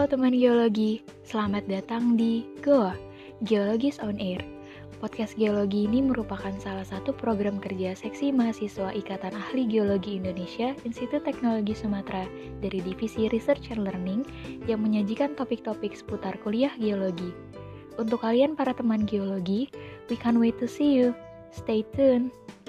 Halo teman geologi, selamat datang di GOA, Geologis on Air. Podcast geologi ini merupakan salah satu program kerja seksi mahasiswa Ikatan Ahli Geologi Indonesia Institut Teknologi Sumatera dari Divisi Research and Learning yang menyajikan topik-topik seputar kuliah geologi. Untuk kalian para teman geologi, we can't wait to see you. Stay tuned!